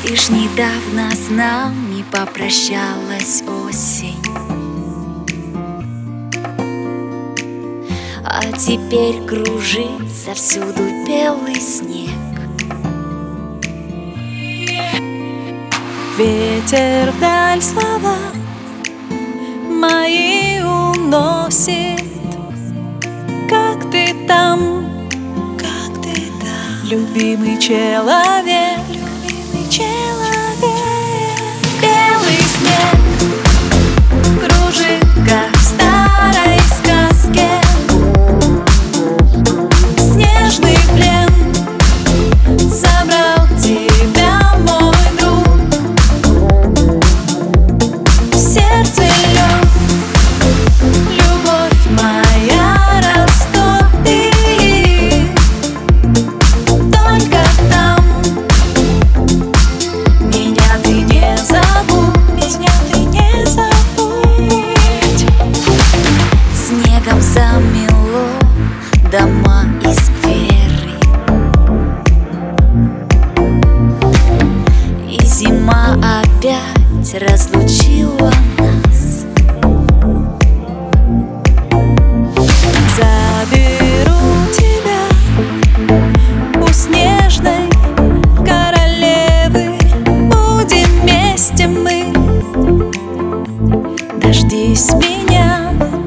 Лишь недавно с нами попрощалась осень, а теперь кружится всюду белый снег. Ветер вдаль слова мои уносит. Как ты там, любимый человек, белый снег кружит, как в старой сказке. Снежный плен забрал тебя, мой друг. В сердце лед, любовь моя, растопи. Только там меня ты не забудь, Снегом замело дома и скверы, и зима опять разлучила нас. заберу тебя у снежной королевы. Будем вместе мы, дождись меня.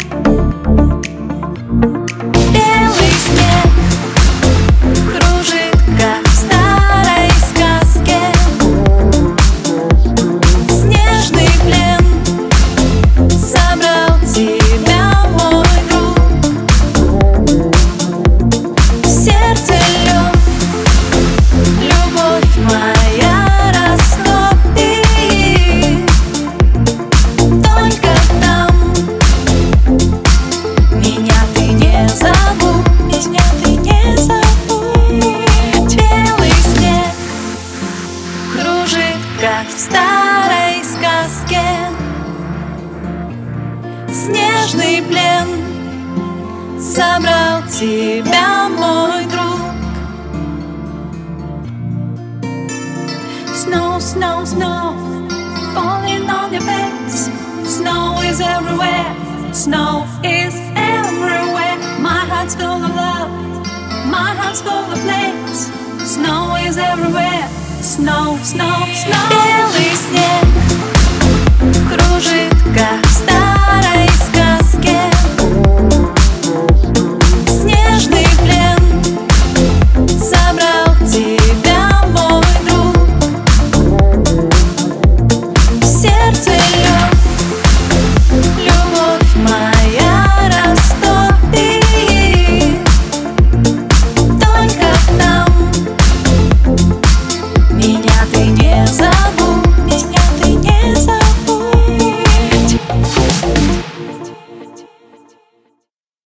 Белый снег кружит, как в старой сказке. Снежный плен забрал тебя, мой друг. В сердце лед, любовь моя, растопи. Только там меня ты не забудь, Белый снег кружит, как в старой сказке. Снежный плен забрал тебя, мой друг. Snow, snow, snow, falling on your face. Snow is everywhere, snow is everywhere. My heart's full of love, my heart's full of place. Snow is everywhere, snow, snow, snow.